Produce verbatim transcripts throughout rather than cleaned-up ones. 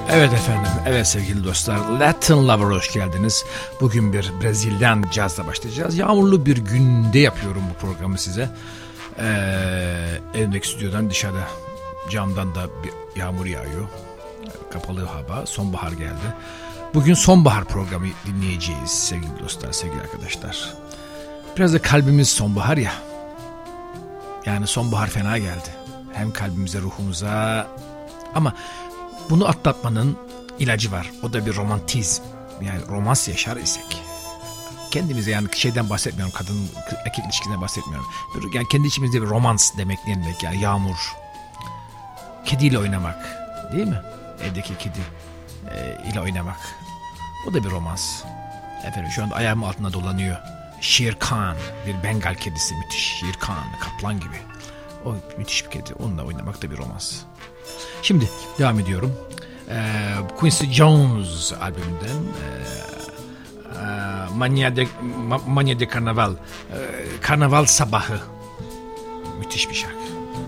Evet efendim, evet sevgili dostlar, Latin Lover hoş geldiniz. Bugün bir Brezilyan cazla başlayacağız. Yağmurlu bir günde yapıyorum bu programı size. Ee, evdeki stüdyodan dışarıda camdan da bir yağmur yağıyor. Kapalı hava, sonbahar geldi. Bugün sonbahar programı dinleyeceğiz sevgili dostlar, sevgili arkadaşlar. Biraz da kalbimiz sonbahar ya. Yani sonbahar fena geldi. Hem kalbimize, ruhumuza, ama bunu atlatmanın ilacı var. O da bir romantizm. Yani romans yaşar isek. Kendimize, yani şeyden bahsetmiyorum. Kadın erkek ilişkisinden bahsetmiyorum. Yani kendi içimizde bir romans demek ne demek? Yani yağmur. Kediyle oynamak. Değil mi? Evdeki kedi e, ile oynamak. O da bir romans. Efendim şu anda ayağımın altında dolanıyor. Shere Khan. Bir Bengal kedisi. Müthiş. Shere Khan. Kaplan gibi. O müthiş bir kedi. Onunla oynamak da bir romans. Şimdi devam ediyorum. Ee, Quincy Jones albümünden e, e, Mania de, Ma, Mania de Karnaval, e, Karnaval Sabahı. Müthiş bir şarkı.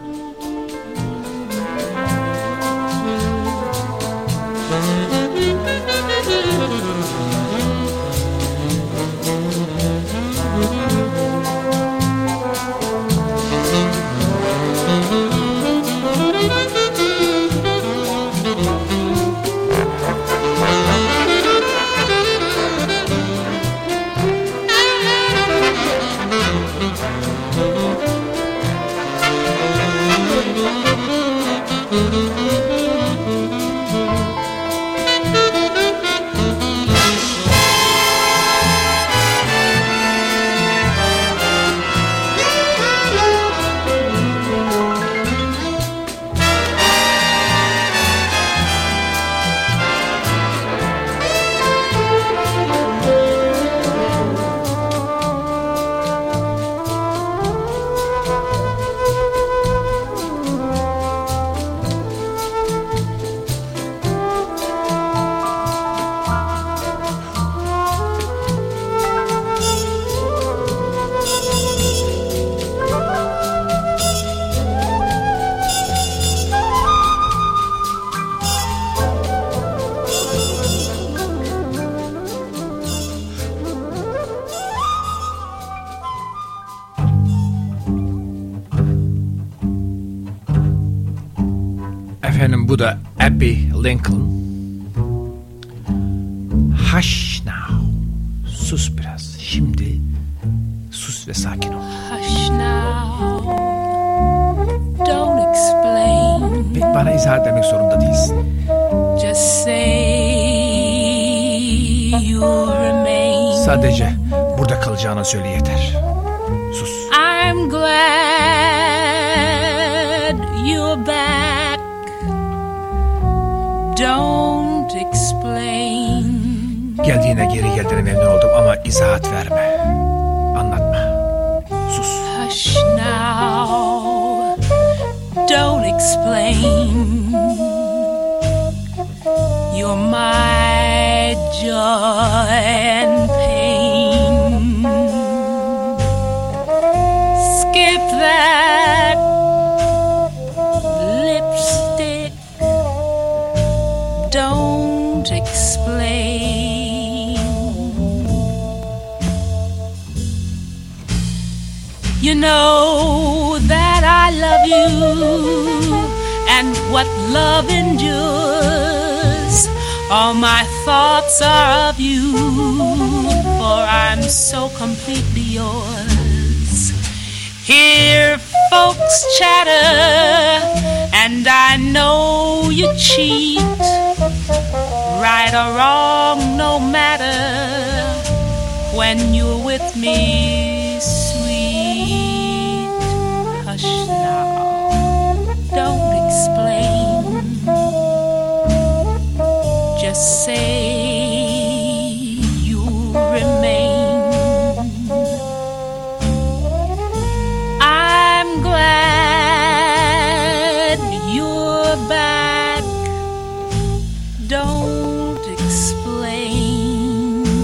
Efendim bu da Abbey Lincoln. Hush now. Sus biraz. Şimdi sus ve sakin ol. Hush now. Don't explain. Pek bana izah etmek zorunda değilsin. Just say you remain. Sadece burada kalacağını söyle yeter. Sus. I'm glad you're back. Don't explain. Geldiğine, geri geldiğine memnun oldum ama izahat verme. Anlatma. Sus. Hush now. Don't explain. You're my joy and pain. Skip that lipstick. Don't explain. You know that I love you, and what love endures. All my thoughts are of you, for I'm so completely yours. Hear folks chatter, and I know you cheat. Right or wrong, no matter, when you're with me, sweet. Hush now, don't explain. Just say you remain. I'm glad you're back. Don't explain.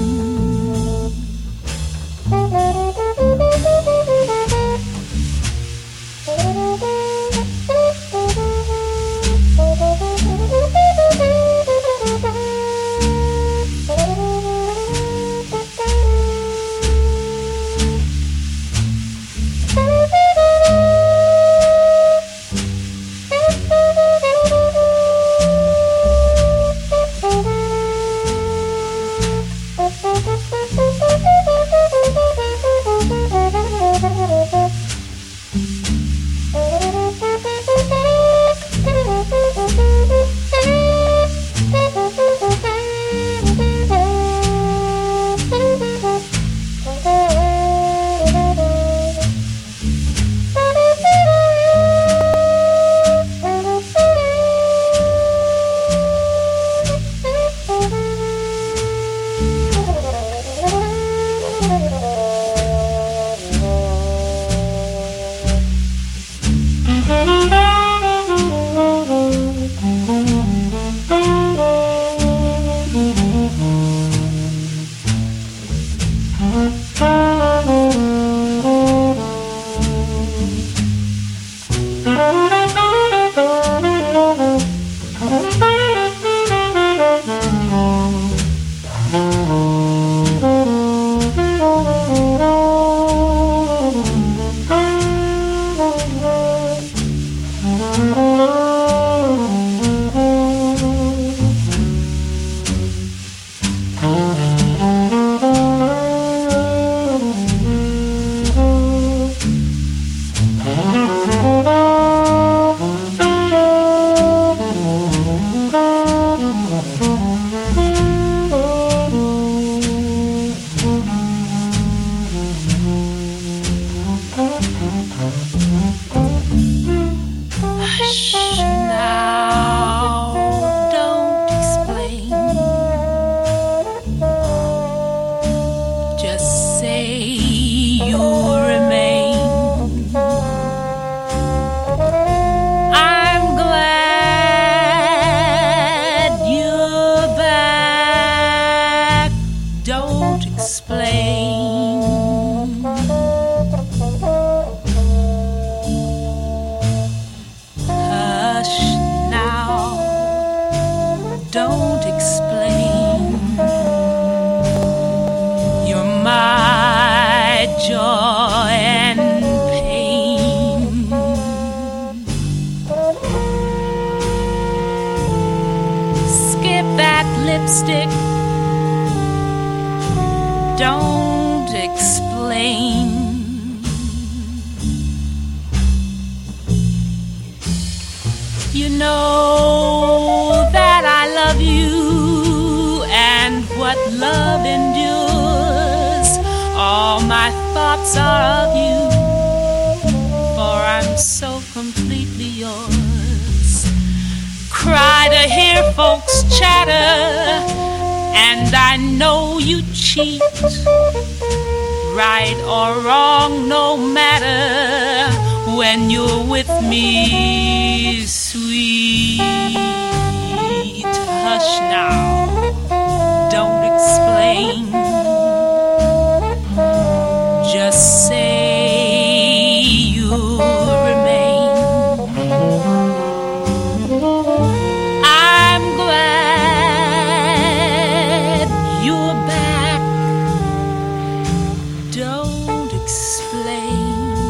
don't explain. You're my joy and pain. Skip that lipstick, don't explain. You know that I love you, and what love endures. All my thoughts are of you, for I'm so completely yours. Cry to hear folks chatter, and I know you cheat. Right or wrong, no matter, when you're with me, sweet. Hush now, don't explain. Just say you'll remain. I'm glad you're back. Don't explain.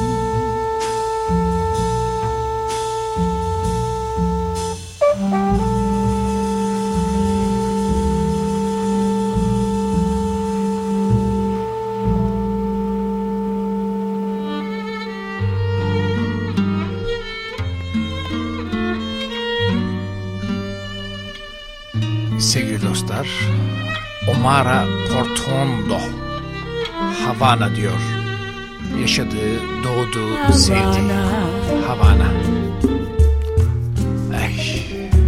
Sevgili dostlar, Omara Portuondo Havana diyor. Yaşadığı, doğduğu, sevdiği Havana. Ey.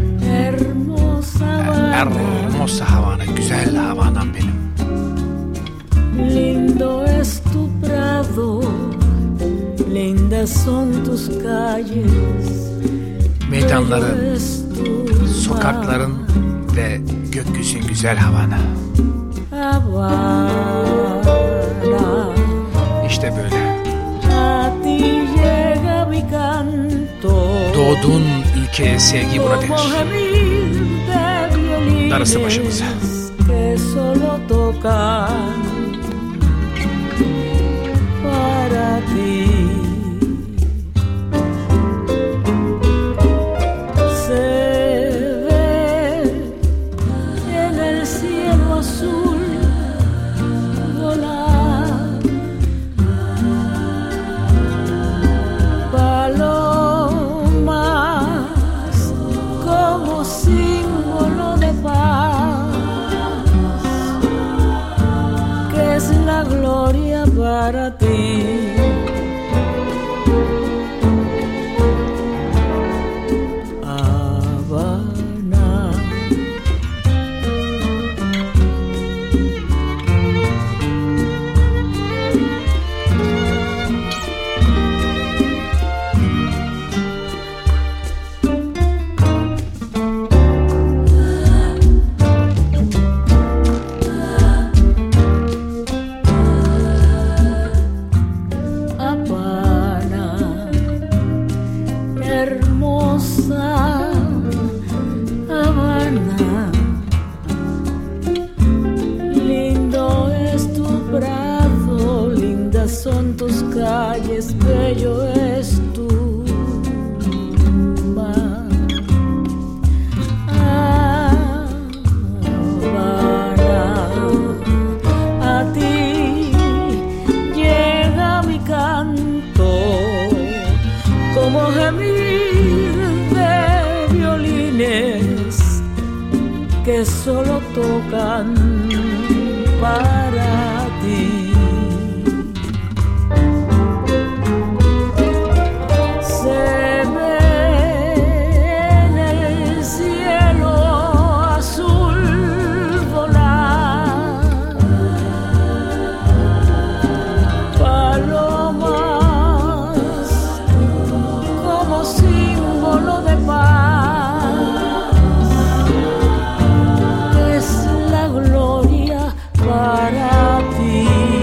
Hermosa Havana, güzel Havana'm benim. Lindo es tu prado, lindas son tus calles. Meydanların, sokakların ve gökyüzün güzel Havana. Havana. İşte böyle. A ti llega mi canto. Doğduğun ülkeye sevgi buna denir. Darısı başımıza. Que solo tocan para ti. Para ti. Habana. Son tus calles, bello es tu mar. Habana, a ti llega mi canto como gemir de violines que solo tocan para ti. Para ti.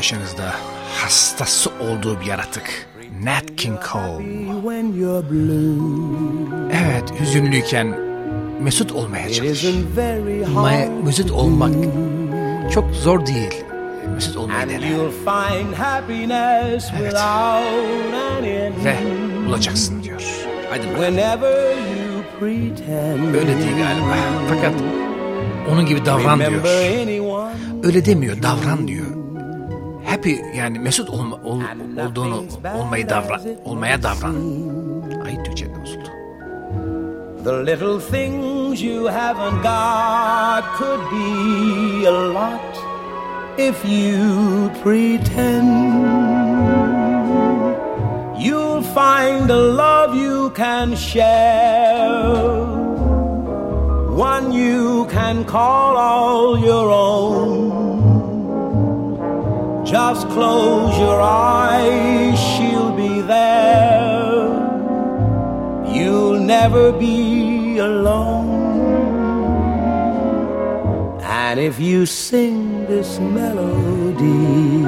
karşınızda hastası olduğu bir yaratık. Nat King Cole. Evet, hüzünlüyken mesut olmaya çalış. Ama mesut olmak çok zor değil. Mesut olmayı dene. Evet. Ve bulacaksın diyor. Hadi bakalım. Öyle değil galiba. Fakat onun gibi davran diyor. Öyle demiyor, davran diyor. Happy, yani mesut olma, ol, olduğunu olmayı davran, olmaya davran. Ay, Türkçe'de bozuldu. The little things you haven't got could be a lot if you pretend. You'll find a love you can share, one you can call all your own. Just close your eyes, she'll be there. You'll never be alone. And if you sing this melody,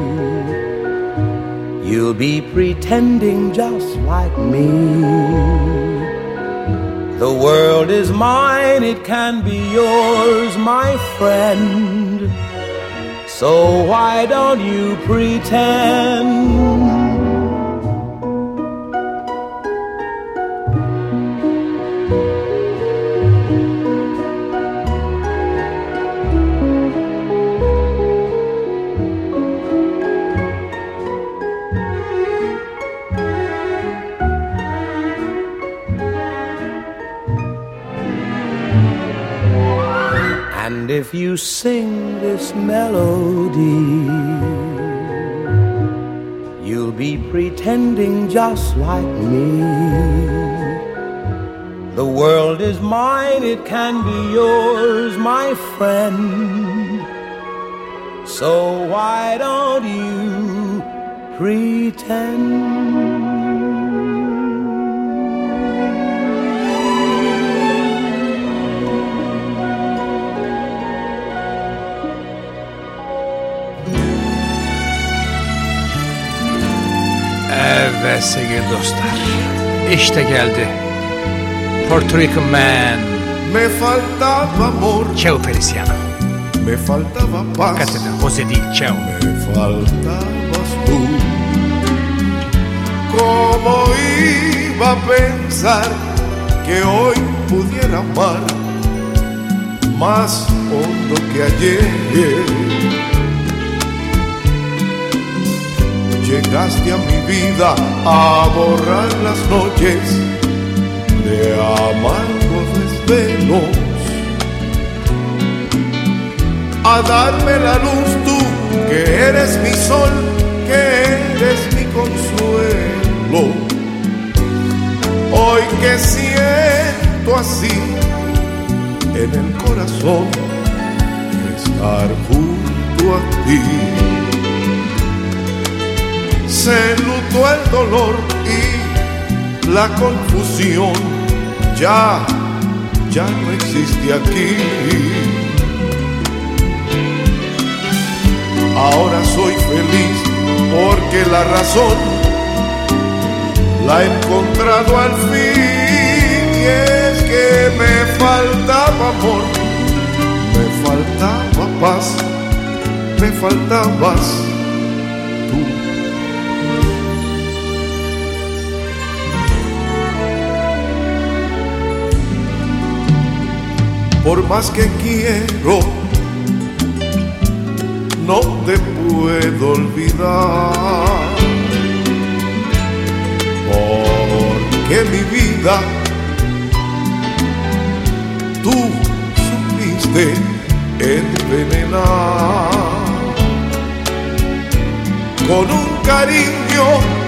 you'll be pretending just like me. The world is mine, it can be yours, my friend. So why don't you pretend? And if you sing this melody, you'll be pretending just like me. The world is mine, it can be yours, my friend. So why don't you pretend? Evet sevgili dostlar, işte geldi Puerto Rican Man. Me faltaba amor, Cheo Feliciano. me faltaba paz, Hakikaten Jose değil, Cheo. me faltabas tú. ¿Cómo iba a pensar que hoy pudiera amar más hondo que ayer? Llegaste a mi vida a borrar las noches de amargos desvelos, a darme la luz tú, que eres mi sol, que eres mi consuelo. Hoy que siento así en el corazón estar junto a ti, se enlutó el dolor y la confusión, ya, ya no existe aquí. Ahora soy feliz porque la razón la he encontrado al fin, y es que me faltaba amor, me faltaba paz, me faltabas tú. Por más que quiero, no te puedo olvidar, porque mi vida tú supiste envenenar con un cariño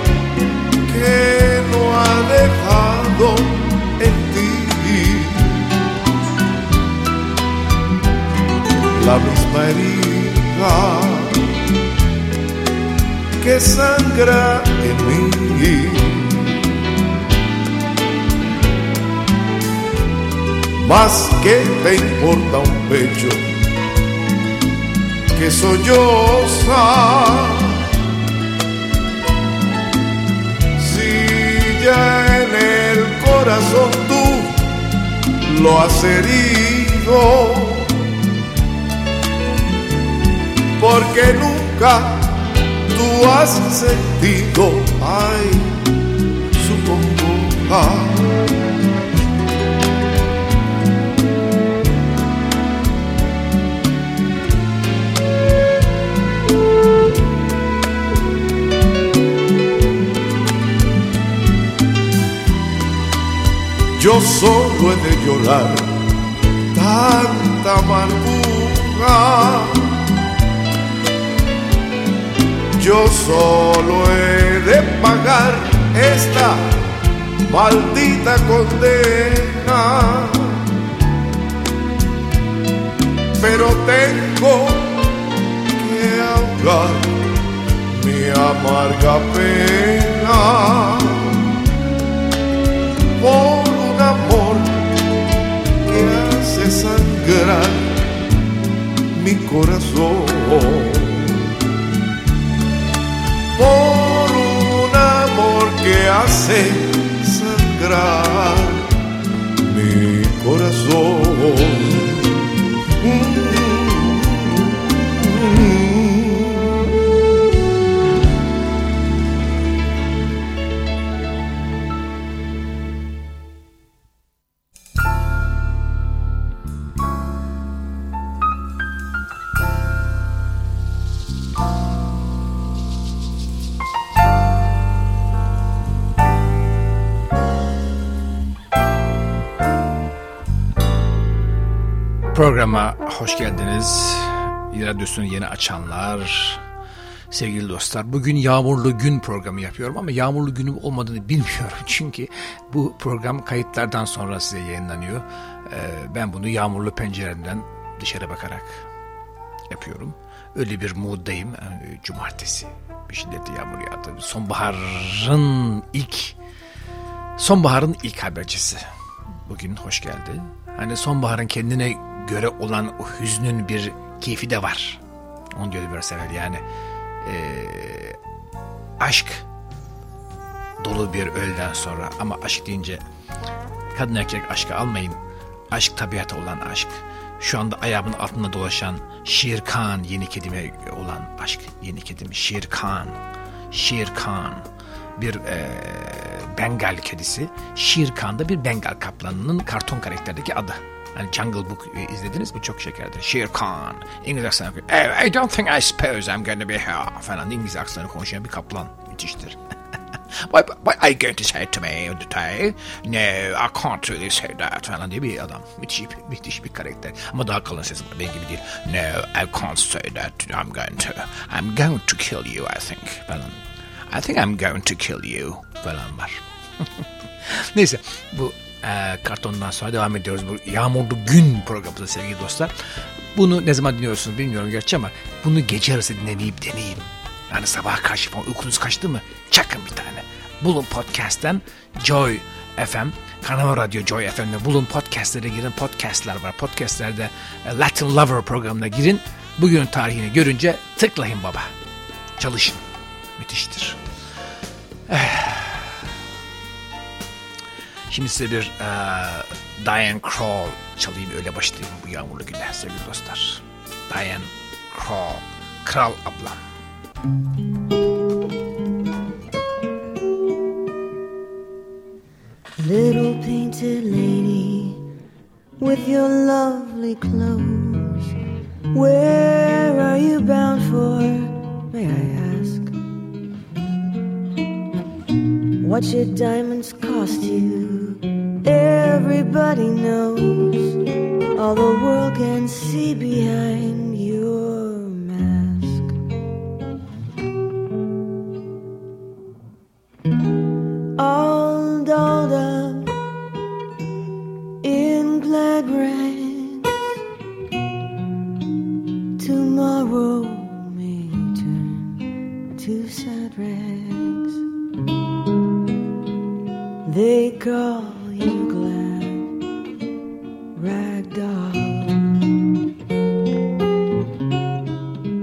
que no ha dejado en ti la misma herida que sangra en mí. Más que te importa un pecho que solloza. Si ya en el corazón tú lo has herido, porque nunca tú has sentido, ay, su congoja. Yo solo he de llorar tanta amargura. Yo solo he de pagar esta maldita condena. Pero tengo que ahogar mi amarga pena por un amor que hace sangrar mi corazón, por un amor que hace sangrar mi corazón. Programa hoş geldiniz. Radyosunu yeni açanlar, sevgili dostlar. Bugün yağmurlu gün programı yapıyorum ama yağmurlu günüm olmadığını bilmiyorum. Çünkü bu program kayıtlardan sonra size yayınlanıyor. Ee, ben bunu yağmurlu penceremden dışarı bakarak yapıyorum. Öyle bir mooddayım. Yani cumartesi bir şiddetli yağmur yağdı. Sonbaharın ilk sonbaharın ilk habercisi. Bugün hoş geldi. Hani sonbaharın kendine göre olan o hüznün bir keyfi de var. Onu diyordu biraz evvel yani. Ee, aşk dolu bir öğleden sonra, ama aşk deyince kadın erkek aşkı almayın. Aşk tabiata olan aşk. Şu anda ayağımın altında dolaşan Shere Khan yeni kedime olan aşk. Yeni kedim Shere Khan. Shere Khan. Bir e, Bengal kedisi. Shere Khan da bir Bengal kaplanının karton karakterdeki adı. Hani Jungle Book e, izlediniz mi? Çok şekerdir. Shere Khan. İngiliz aksanı konuşuyor. Oh, I don't think I suppose I'm going to be here. Falan İngiliz aksanı konuşan bir kaplan. Müthiştir. What, what are you going to say to me today? No, I can't really say that falan diye bir adam. Müthiş, müthiş bir karakter. Ama daha kalın sesi var. Benim gibi değil. No, I can't say that. I'm going to. I'm going to kill you, I think. Falan. I think I'm going to kill you falan var. Neyse, bu e, kartondan sonra devam ediyoruz. Bu yağmurlu gün programında sevgili dostlar. Bunu ne zaman dinliyorsunuz bilmiyorum gerçi ama bunu gece arası dinlemeyip deneyin. Yani sabah karşı falan uykunuz kaçtı mı? Çakın bir tane. Bulun podcast'ten Joy F M, Kanal Radyo Joy F M'de bulun, podcastlere girin. Podcastler var. Podcastlerde Latin Lover programına girin. Bugünün tarihini görünce tıklayın baba. Çalışın. Müthiştir. Şimdi size bir uh, Diane Krall çalayım, öyle başlayayım bu yağmurlu günde sevgili dostlar. Diane Krall, Kral ablam. Little painted lady with your lovely clothes, where are you bound for, may I ask? What your diamonds cost you, everybody knows. All the world can see behind your mask. All dolled up in glad rags, tomorrow may turn to sad rags. They call you glad rag doll.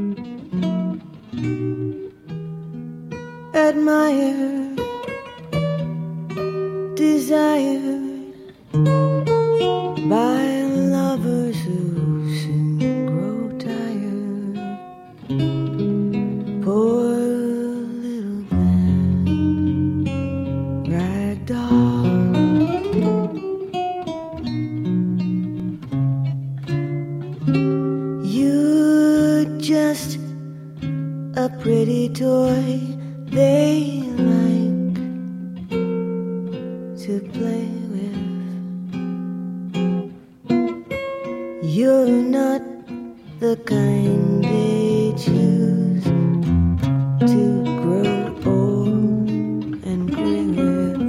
desire, desired by lovers who soon grow tired. Poor little man, ragdoll. You're just a pretty toy they like to play with. You're not the kind they choose to grow old and gray with.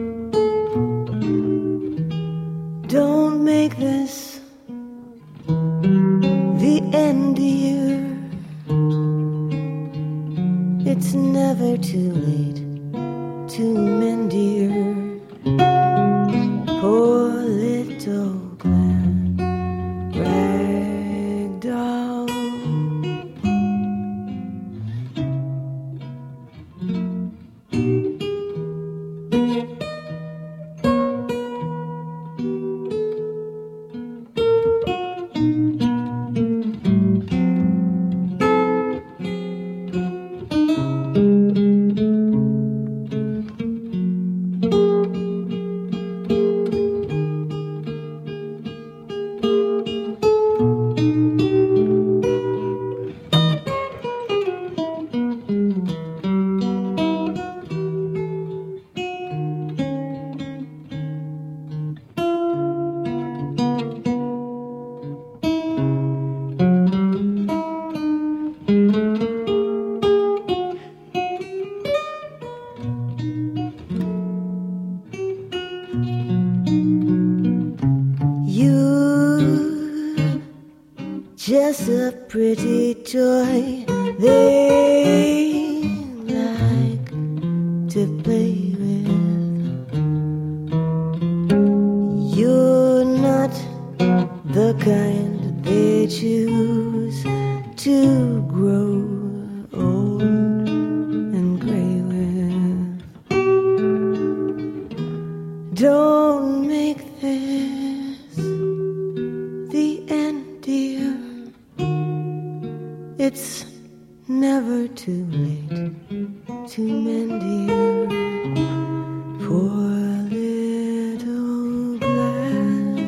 Don't make this the end, dear. It's never too late to mend, dear. Poor little Glenn Ragdoll. Just a pretty toy they like to play with. You're not the kind they choose to grow old and gray with. Don't make this the end, dear. It's never too late to mend, dear. Poor little black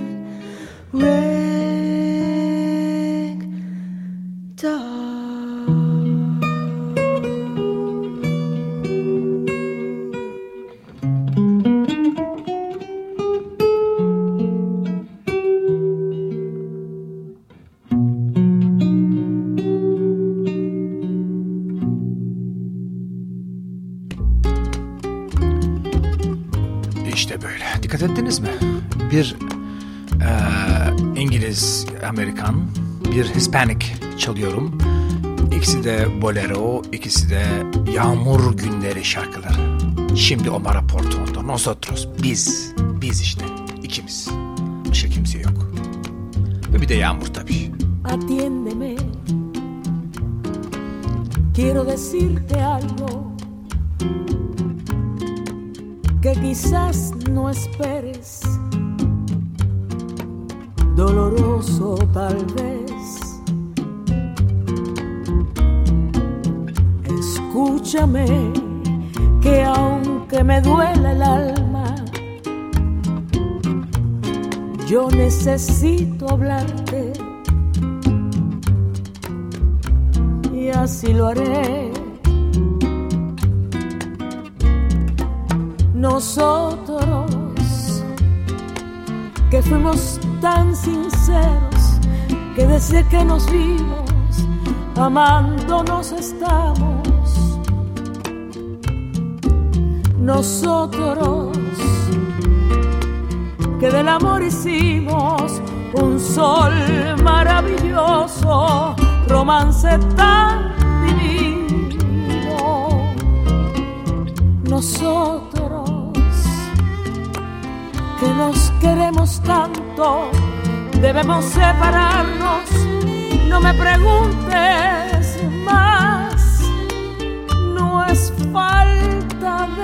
rag doll. İşte böyle. Dikkat ettiniz mi? Bir e, İngiliz, Amerikan, bir Hispanic çalıyorum. İkisi de bolero, ikisi de yağmur günleri şarkıları. Şimdi Omar Porto'nda Nosotros, biz, biz işte, ikimiz. Başka kimse yok. Ve bir de yağmur tabii. Atiéndeme, quiero decirte algo que quizás no esperes, doloroso tal vez. Escúchame, que aunque me duela el alma, yo necesito hablarte y así lo haré. Nosotros que fuimos tan sinceros, que desde que nos vimos amándonos estamos. Nosotros que del amor hicimos un sol maravilloso, romance tan divino. Nosotros que nos queremos tanto, debemos separarnos. No me preguntes más, no es falta de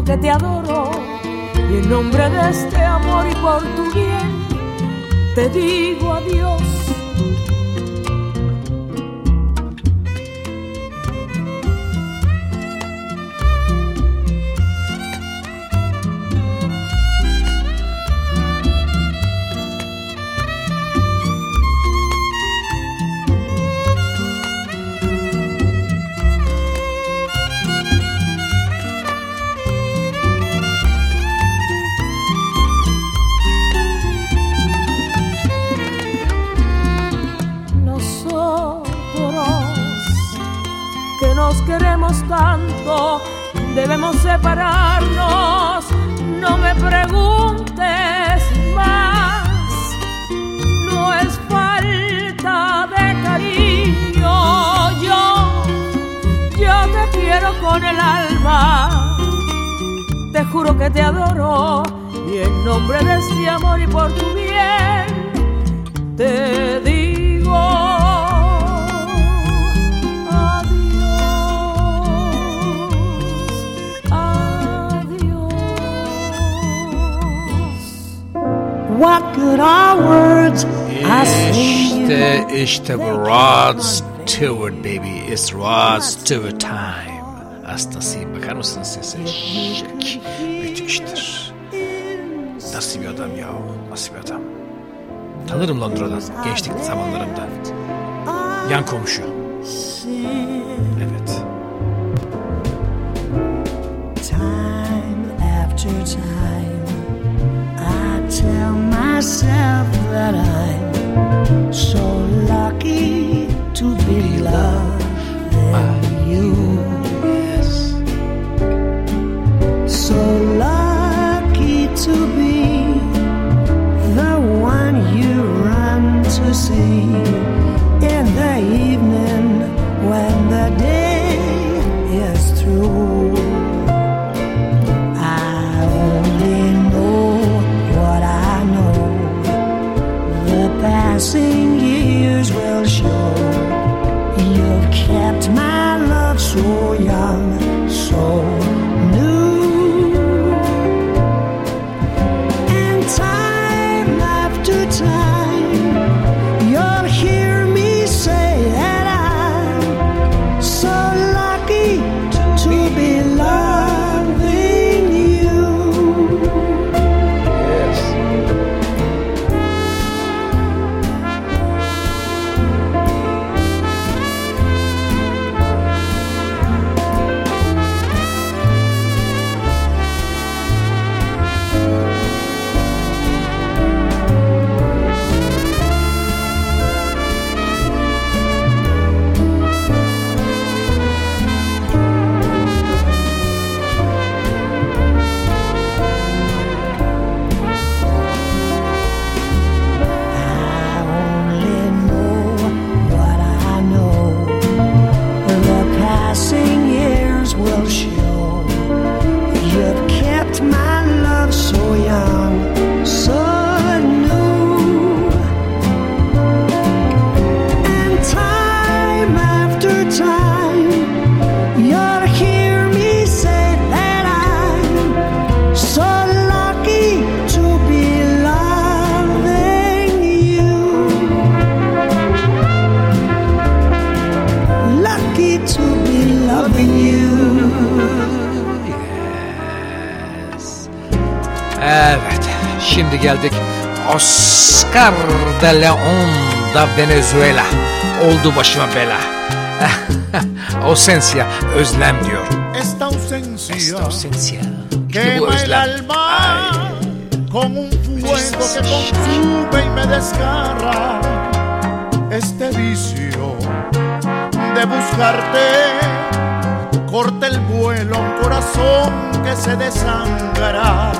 que te adoro y en nombre de este amor y por tu bien te digo adiós. Tanto, debemos separarnos, no me preguntes más, no es falta de cariño, yo, yo te quiero con el alma, te juro que te adoro y en nombre de este amor y por tu bien te digo what good are words I sing İşte, işte Rod Stewart baby. It's Rod Stewart time. Hastasıyım. Bakar mısınız sese? Şek. Müthiştir. Nasıl bir adam ya? Nasıl bir adam? Tanırım Londra'dan. Gençlik zamanlarımda. Yan komşu. Evet. Time after time I tell myself that I'm so lucky to be loving you. Yes. So lucky to be the one you run to see in the evening when the day is through. I only know what I know. The passing years will show. You've kept my love so young, so new. And time after time, you'll hear me say that I'm so lucky to be loving you. Yes. I only know what I know. The passing years will show. You've kept my love so young, so new. And time after time, you'll hear me say that I'm so lucky to be loving you. Lucky to be loving you. Yes. Evet. Şimdi geldik Oscar de Leon da Venezuela. Oldu başıma bela. Ausencia, özlem diyor. Esta ausencia Esta ausencia. İşte bu quema el özlem. alma Ay. con un fuego que consume y me desgarra. Este vicio de buscarte corta el vuelo a un corazón que se desangra.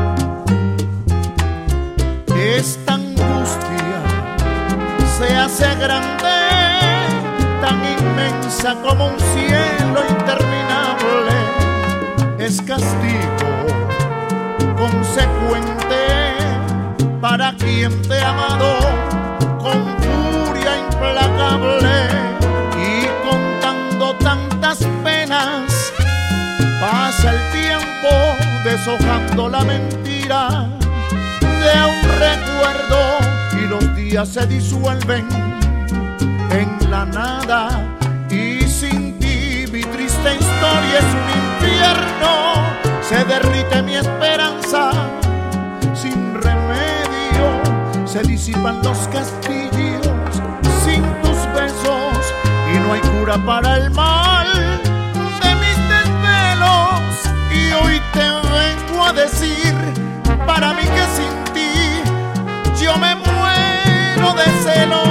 Esta angustia se hace grande, tan inmensa como un cielo interminable. Es castigo consecuente para quien te ha amado con furia implacable. Y contando tantas penas pasa el tiempo deshojando la mentira de un recuerdo y los días se disuelven en la nada y sin ti mi triste historia es un infierno. Se derrite mi esperanza sin remedio, se disipan los castillos sin tus besos y no hay cura para el mal de mis desvelos. Y hoy te vengo a decir, para mí que sin ti yo me muero de celos.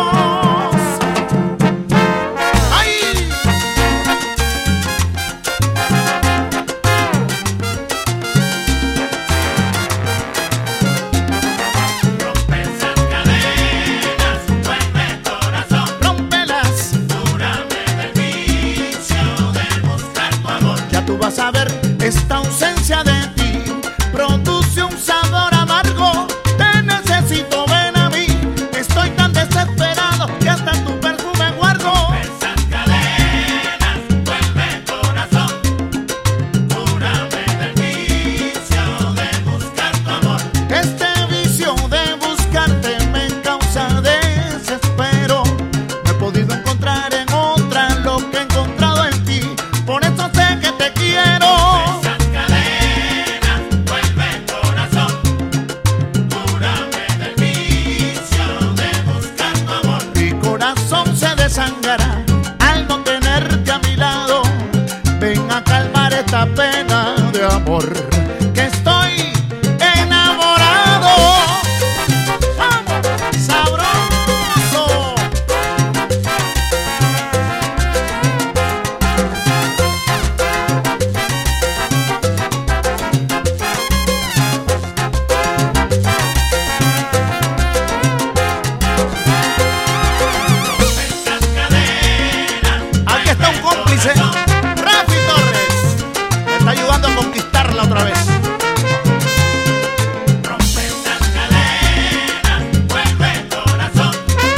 Vas a ver, esta ausencia de ti produce un sabor amargo. Te necesito, ven a mí. Estoy tan desesperado que hasta tu perfume guardo. Esas cadenas, vuelve corazón. Cúrame del vicio de buscar tu amor. Este vicio de buscarte me causa desespero. No he podido encontrar en otra lo que he encontrado en ti. Por eso sé que te quiero. Esas cadenas, vuelve corazón. Cúrame del vicio de buscar tu amor. Mi corazón se desangrará al no tenerte a mi lado. Ven a calmar esta pena de amor, que estoy enamorado. ¡Vamos! ¡Sabroso! Aquí está un cómplice, Rafi Torres, me está ayudando a conquistarla otra vez. Rompe esas cadenas, vuelve corazón.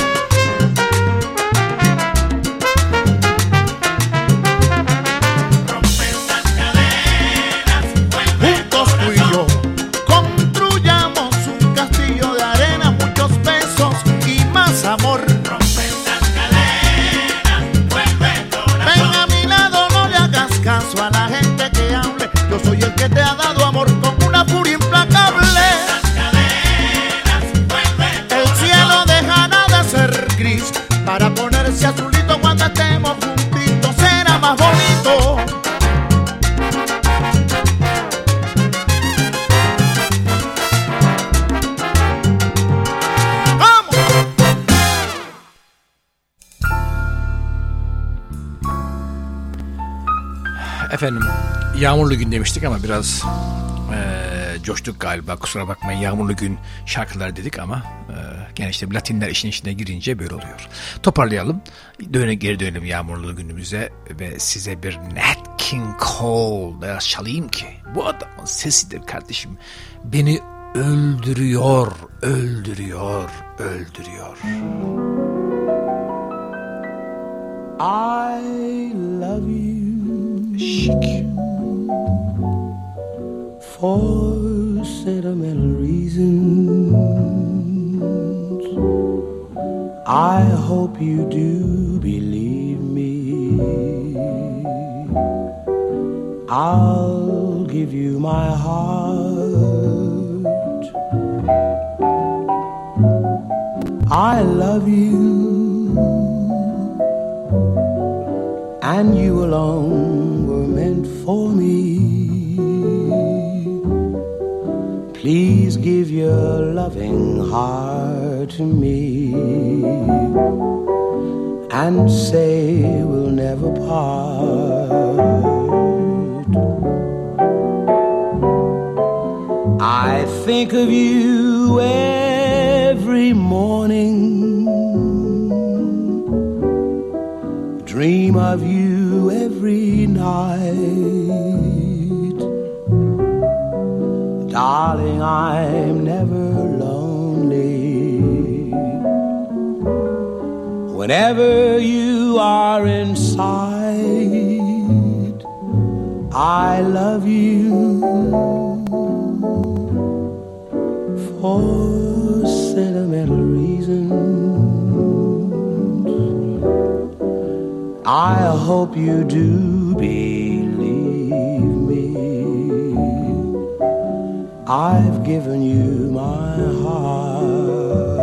Rompe esas cadenas, vuelve juntos tú y yo construyamos un castillo de arena, muchos besos y más amor. Rompe esas cadenas, vuelve corazón. Ven a mi lado, no le hagas caso a la gente que hable. Yo soy el que te ha dado amor con una furia implacable. Esas cadenas, vuelve corazón. El cielo dejará de ser gris para ponerse azulito cuando estemos juntitos. Será más bonito. ¡Vamos! Efendim, yağmurlu gün demiştik ama biraz eee, coştuk galiba, kusura bakmayın. Yağmurlu gün şarkılar dedik ama eee, gene işte Latinler işin içine girince böyle oluyor. Toparlayalım, döne, geri dönelim yağmurlu günümüze ve size bir Nat King Cole çalayım ki bu adamın sesidir kardeşim. Beni öldürüyor, öldürüyor, öldürüyor. I love you Şik. for sentimental reasons. I hope you do believe me. I'll give you my heart. I love you, and you alone were meant for me. Please give your loving heart to me and say we'll never part. I think of you every morning, dream of you every night. Darling, I'm never lonely whenever you are in sight. I love you for sentimental reasons. I hope you do believe me. I've given you my heart.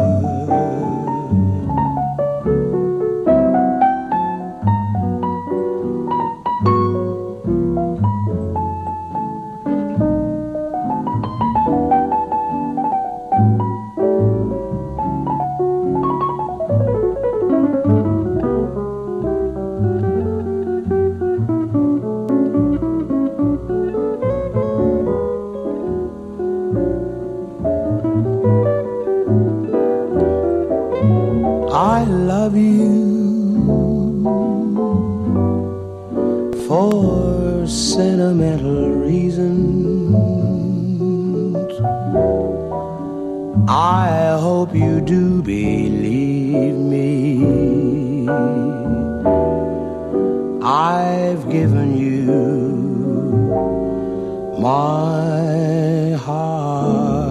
I love you for sentimental reasons. I hope you do believe me. I've given you my heart.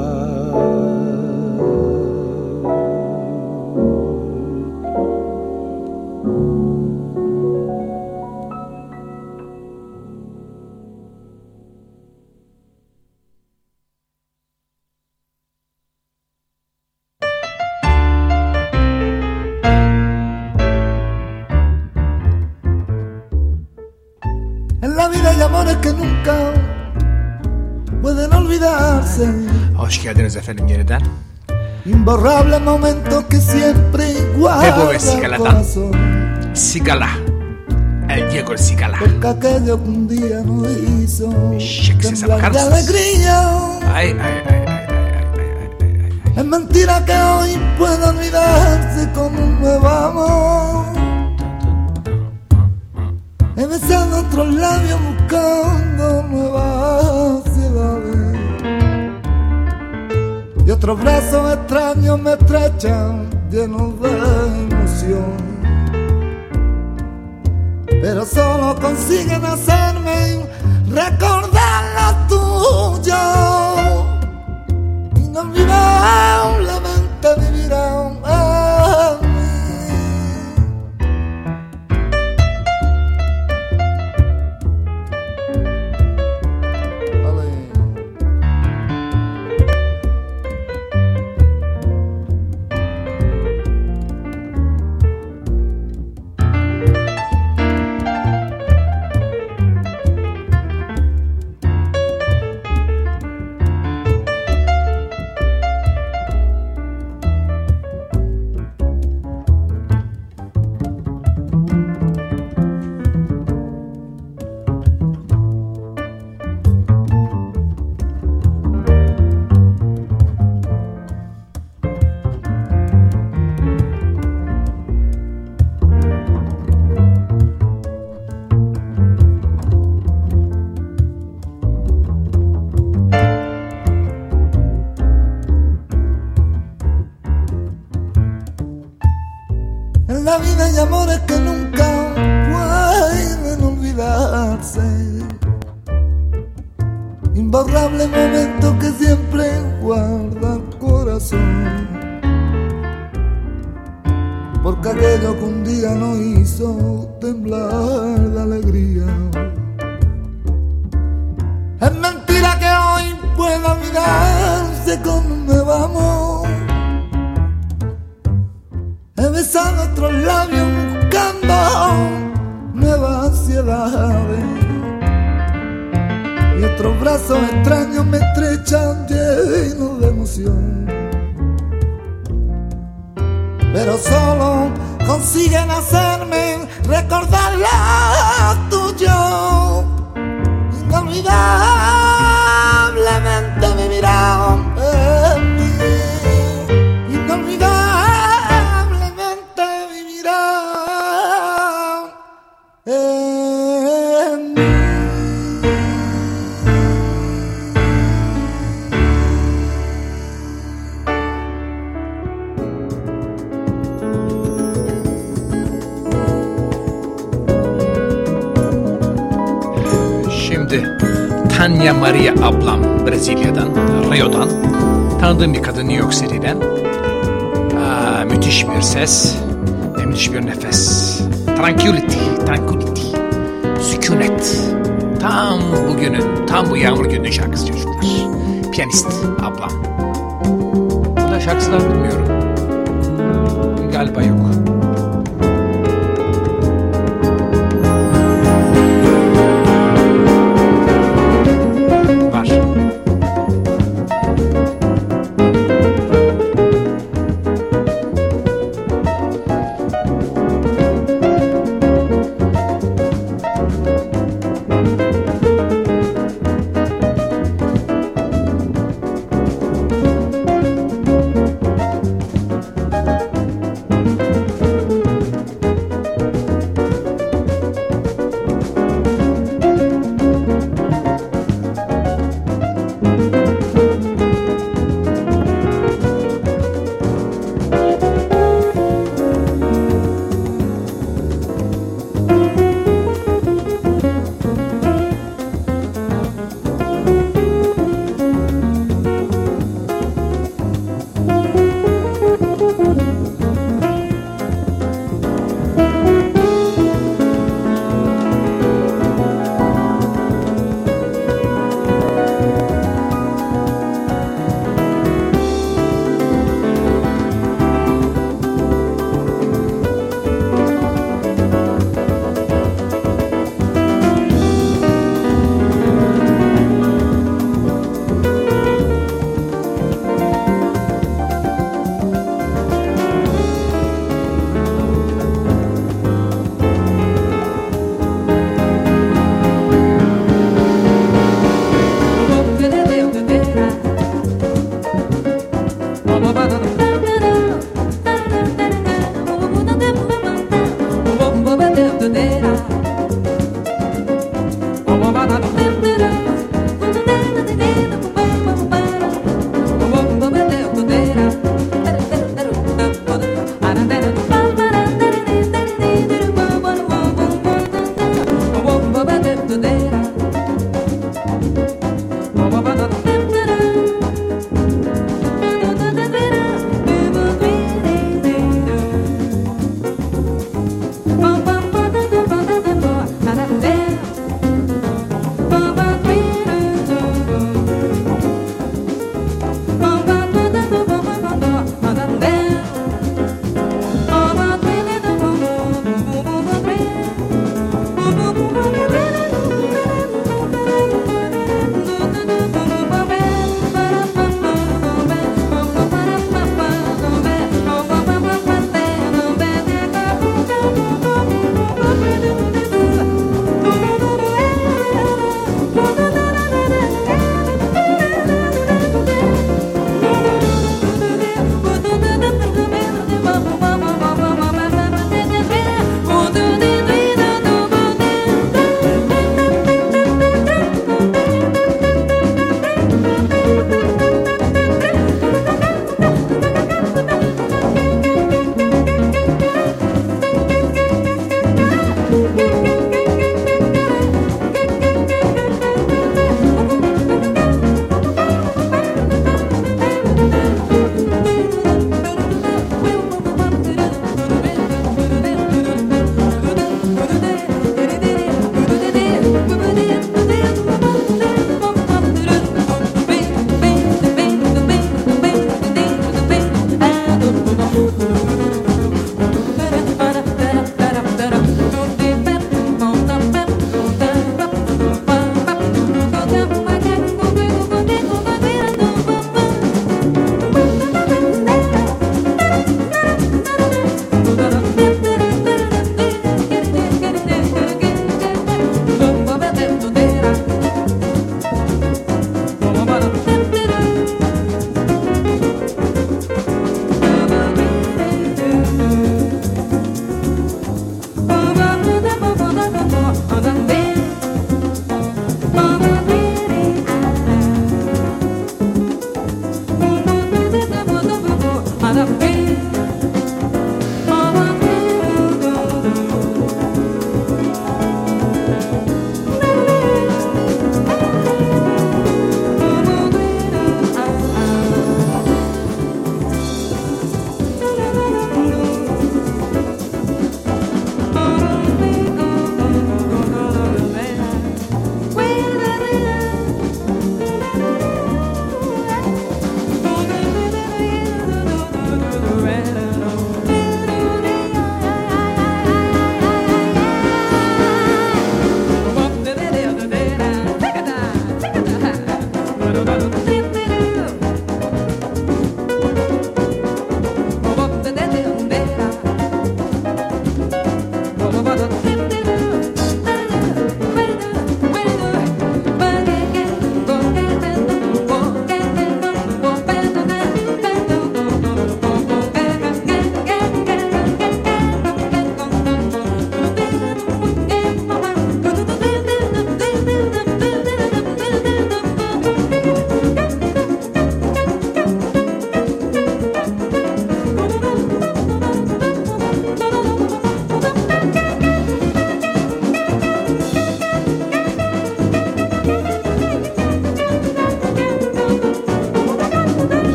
Que nunca pueden olvidarse. Hoş geldiniz efendim yeniden. Imborrable momento que siempre guarda el corazón. Sigala. El Diego el Sigala. Porque aquello que un día no hizo Şeksiz temblar de alegría. Ay, ay, ay, ay, ay, ay, ay, ay. Es mentira que hoy pueda olvidarse como un nuevo amor. He besado otros labios buscando nuevas ciudades y otros brazos extraños me estrechan llenos de emoción, pero solo consiguen hacerme recordar lo tuyo. Inolvidablemente vivirán en mí. La vida hay amores que nunca pueden olvidarse, imborrable momento que siempre guarda el corazón, porque aquello que un día no hizo temblar de alegría. Es mentira que hoy pueda olvidarse con un nuevo amor. He besado otros labios buscando nuevas ansiedades y otros brazos extraños me estrechan llenos de emoción, pero solo consiguen hacerme recordar lo tuyo. Inolvidablemente vivirán en mí. Inolvidablemente vivirán en mí. Şimdi Tanya Maria ablam Brezilya'dan, Rio'dan tanıdığım bir kadın New York City'den. Aa, müthiş bir ses ve müthiş bir nefes. Tranquility, tranquility, sükunet. Tam bugünün, tam bu yağmur gününün şarkısı çocuklar. Piyanist ablam. Burada şarkılar bilmiyorum. Galiba yok.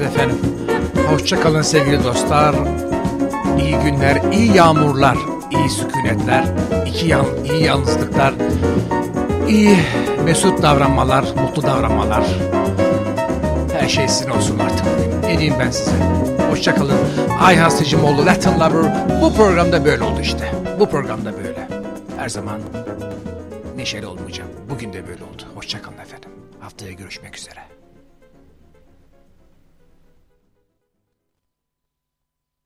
efendim. Hoşça kalın sevgili dostlar. İyi günler, iyi yağmurlar, iyi sükunetler, iki yan, iyi yalnızlıklar, iyi mesut davranmalar, mutlu davranmalar. Her şey sizin olsun artık. Ne diyeyim ben size? Hoşça kalın. Ayhan Sicimoğlu, Latin Lover. Bu programda böyle oldu işte. Bu programda böyle. Her zaman neşeli olmayacağım. Bugün de böyle oldu. Hoşça kalın efendim. Haftaya görüşmek üzere.